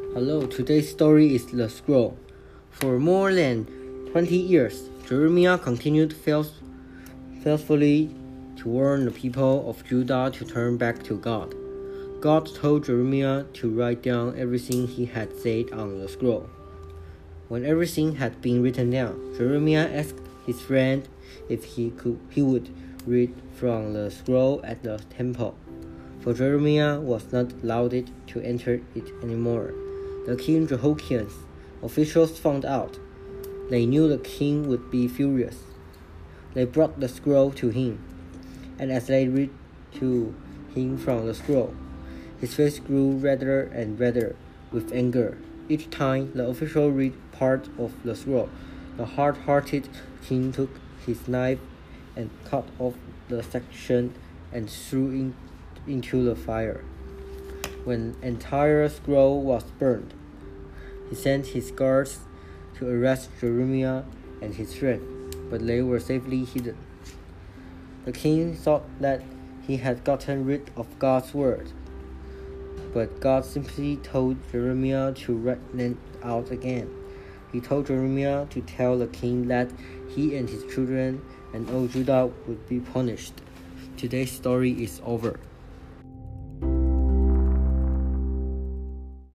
Hello, today's story is The Scroll. For more than 20 years, Jeremiah continued faithfully to warn the people of Judah to turn back to God. God told Jeremiah to write down everything he had said on the scroll. When everything had been written down, Jeremiah asked his friend if he would read from the scroll at the temple, for Jeremiah was not allowed to enter it anymore. The king Jehoiakim's officials found out. They knew the king would be furious. They brought the scroll to him, and as they read to him from the scroll, his face grew redder and redder with anger. Each time the official read part of the scroll, the hard-hearted king took his knife and cut off the section and threw it into the fire. When the entire scroll was burned, he sent his guards to arrest Jeremiah and his friend, but they were safely hidden. The king thought that he had gotten rid of God's word, but God simply told Jeremiah to write them out again. He told Jeremiah to tell the king that he and his children and all Judah would be punished. Today's story is over.